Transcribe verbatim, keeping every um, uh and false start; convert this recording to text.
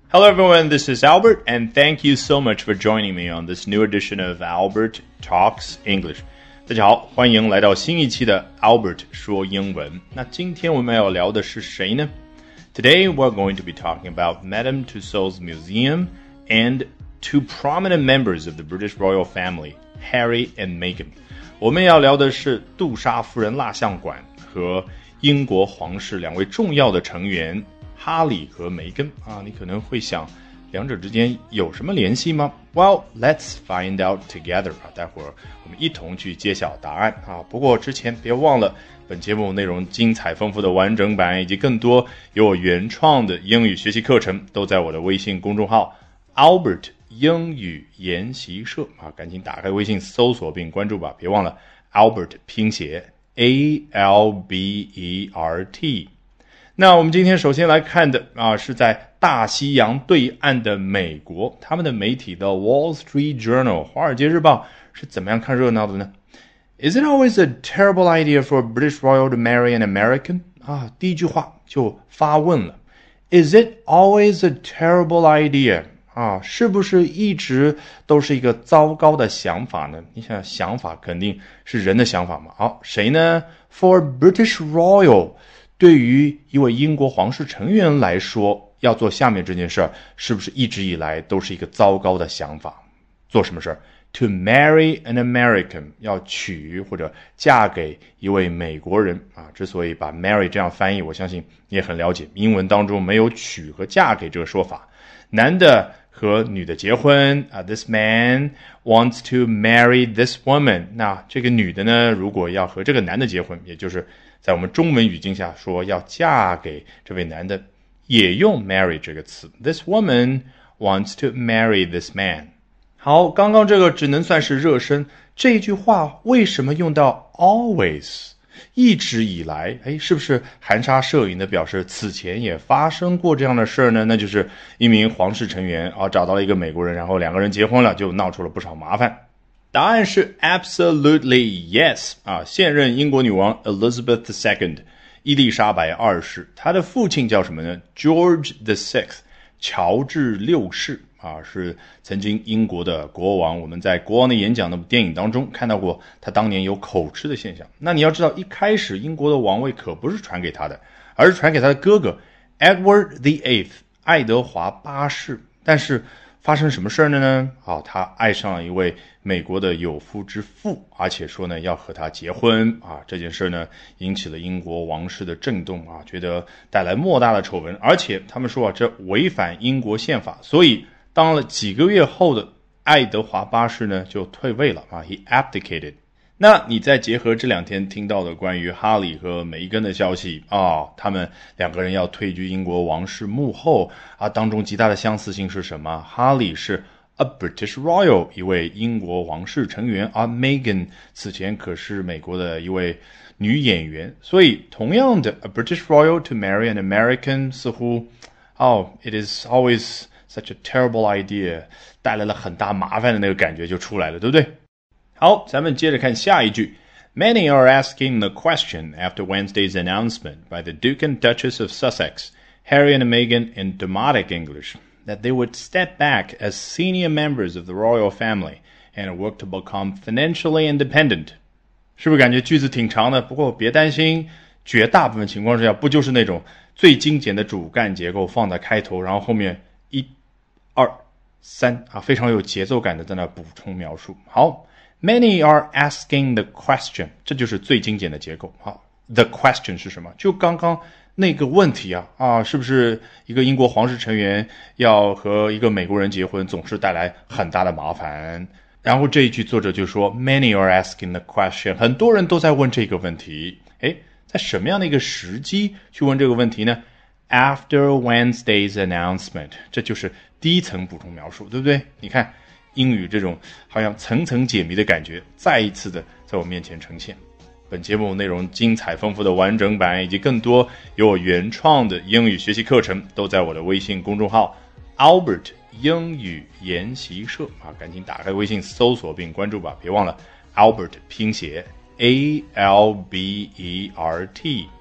Hello everyone, this is Albert, and thank you so much for joining me on this new edition of Albert Talks English. 大家好，欢迎来到新一期的 Albert 说英文。那今天我们要聊的是谁呢？ Today we're going to be talking about Madame Tussauds Museum and two prominent members of the British royal family, Harry and Meghan. 我们要聊的是杜莎夫人蜡像馆和英国皇室两位重要的成员哈里和梅根啊，你可能会想，两者之间有什么联系吗 ？Well, let's find out together 啊！待会儿我们一同去揭晓答案啊！不过之前别忘了，本节目内容精彩丰富的完整版以及更多由我原创的英语学习课程，都在我的微信公众号 Albert 英语研习社啊！赶紧打开微信搜索并关注吧！别忘了 Albert 拼写 A L B E R T。那我们今天首先来看的啊，是在大西洋对岸的美国，他们的媒体的 Wall Street Journal 华尔街日报是怎么样看热闹的呢？ Is it always a terrible idea for a British royal to marry an American? 啊，第一句话就发问了 Is it always a terrible idea? 啊，是不是一直都是一个糟糕的想法呢？你想想法肯定是人的想法嘛。好，谁呢？ For British royal对于一位英国皇室成员来说，要做下面这件事儿，是不是一直以来都是一个糟糕的想法？做什么事儿 ？To marry an American， 要娶或者嫁给一位美国人啊。之所以把 marry 这样翻译，我相信你也很了解，英文当中没有娶和嫁给这个说法。男的和女的结婚啊 ，This man wants to marry this woman。那这个女的呢，如果要和这个男的结婚，也就是在我们中文语境下说要嫁给这位男的，也用 marry 这个词。This woman wants to marry this man。好，刚刚这个只能算是热身。这一句话为什么用到 always？ 一直以来，哎，是不是含沙射影的表示此前也发生过这样的事儿呢？那就是一名皇室成员啊找到了一个美国人，然后两个人结婚了，就闹出了不少麻烦。答案是 absolutely yes 啊！现任英国女王 Elizabeth the Second 伊丽莎白二世，她的父亲叫什么呢 ？George the Sixth 乔治六世啊，是曾经英国的国王。我们在《国王的演讲》的电影当中看到过他当年有口吃的现象。那你要知道，一开始英国的王位可不是传给他的，而是传给他的哥哥 Edward the Eighth 爱德华八世。但是发生什么事呢呢？好，他爱上了一位美国的有夫之妇，而且说呢要和他结婚啊。这件事呢引起了英国王室的震动啊，觉得带来莫大的丑闻，而且他们说啊这违反英国宪法，所以当了几个月后的爱德华八世呢就退位了啊 ，he abdicated。那你再结合这两天听到的关于哈里和梅根的消息啊、哦，他们两个人要退居英国王室幕后啊，当中极大的相似性是什么？哈里是 a British royal， 一位英国王室成员，而 Meghan 此前可是美国的一位女演员，所以同样的 a British royal to marry an American， 似乎哦 it is always such a terrible idea， 带来了很大麻烦的那个感觉就出来了，对不对？好，咱们接着看下一句。Many are asking the question after Wednesday's announcement by the Duke and Duchess of Sussex, Harry and Meghan in Demotic English, that they would step back as senior members of the royal family and work to become financially independent. 是不是感觉句子挺长的？不过别担心，绝大部分情况之下，不就是那种最精简的主干结构放在开头，然后后面一、二、三啊，非常有节奏感的在那补充描述。好。Many are asking the question， 这就是最精简的结构。好 ，the question 是什么？就刚刚那个问题啊啊，是不是一个英国皇室成员要和一个美国人结婚，总是带来很大的麻烦？然后这一句作者就说 ，Many are asking the question， 很多人都在问这个问题。诶，在什么样的一个时机去问这个问题呢 ？After Wednesday's announcement， 这就是第一层补充描述，对不对？你看。英语这种好像层层解谜的感觉再一次的在我面前呈现。本节目内容精彩丰富的完整版以及更多由我原创的英语学习课程都在我的微信公众号 Albert 英语研习社啊，赶紧打开微信搜索并关注吧，别忘了 Albert 拼写 A L B E R T。